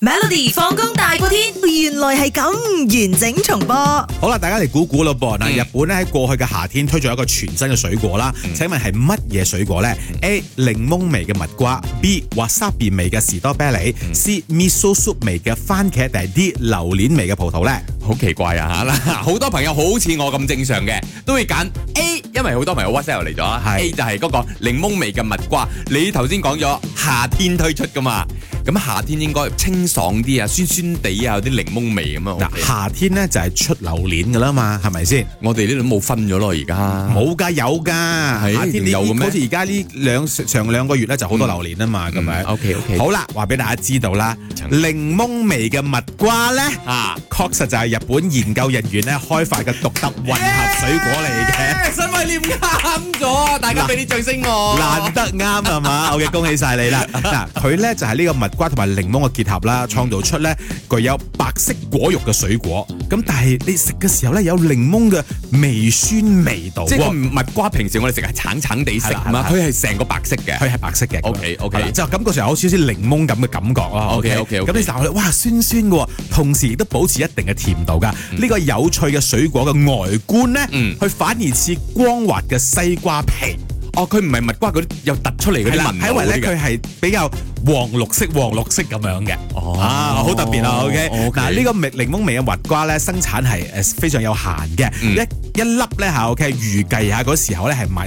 Melody 放工大過天，原來係咁完整重播。 好啦，大家嚟估估咯噃。嗱，日本咧喺過去嘅夏天推出一個全新嘅水果啦。請問係乜嘢水果呢？ A. 檸檬味嘅蜜瓜 ，B. wasabi 味嘅士多啤梨 ，C. miso soup 味嘅番茄，定係 D. 榴蓮味嘅葡萄呢？ 好奇怪啊嚇！好多朋友好似我咁正常嘅，都會揀 A，因為好多朋友 WhatsApp 嚟咗啦。A 就係嗰個檸檬味嘅蜜瓜。你頭先講咗夏天推出噶嘛？咁夏天應該清爽啲啊，酸酸地啊，有啲檸檬味咁啊。 嗱，夏天咧就係出榴蓮噶啦嘛，係咪先？ 我哋呢度冇分咗咯，而家冇㗎，有㗎。夏天有嘅咩？ 好似而家呢上兩個月咧就好多榴蓮啊嘛，咁樣。 OK。 好啦，話俾大家知道啦，檸檬味嘅蜜瓜咧確實就係日本研究人員咧開發嘅獨特混合水果嚟嘅。 新威廉啱咗，大家俾啲掌聲我。 難得啱係嘛？好嘅，恭喜晒你啦！嗱，佢咧就係呢個蜜瓜同埋檸檬嘅結合啦，創造出咧具有白色果肉嘅水果。咁但係你食嘅時候咧有檸檬嘅微酸味道。 即係蜜瓜平時我哋食係橙橙地色嘛，佢係成個白色嘅。 佢係白色嘅。 OK， 就感覺上有少少檸檬咁嘅感覺咯。 OK。 咁你就哇酸酸嘅，同時亦都保持一定嘅甜度㗎。呢個有趣嘅水果嘅外觀咧，佢反而似光滑嘅西瓜皮。 哦，佢唔係蜜瓜嗰啲又突出嚟嗰啲紋路， 係因為咧佢係比較黃綠色咁樣嘅。好特別啊 OK 嗱，呢個檸檬味嘅蜜瓜咧生產係非常有限嘅，一粒咧嚇 OK 預計下嗰時候咧係賣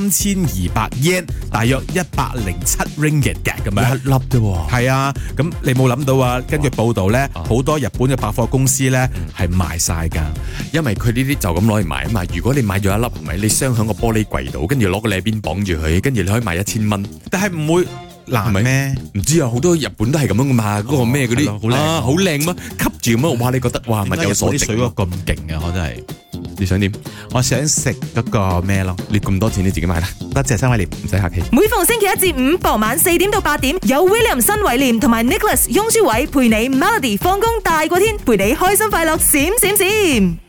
3200 yen， 大約107 ringgit 嘅咁樣。 一粒啫喎。 係啊，咁你冇諗到啊？根據報道咧，好多日本嘅百貨公司咧係賣晒㗎， 因為佢呢啲就咁攞嚟賣啊嘛。如果你買咗一粒係咪？你鑲喺個玻璃櫃度，跟住攞個柄綁住佢，跟住你可以賣1000蚊。 但係唔會難咩？ 唔知啊，好多日本都係咁樣噶嘛。嗰個咩嗰啲好靚咩？吸住咁樣，哇！你覺得哇，物有所值。 水果咁勁嘅，我真係。 你想點？ 我想食嗰個咩咯？ 你咁多錢你自己買啦。 多謝新偉廉，唔使客氣。 每逢星期一至五傍晚4點到8點，有 William 新偉廉同埋 Nicholas 雍舒偉陪你 Melody 放工大過天，陪你開心快樂閃閃閃。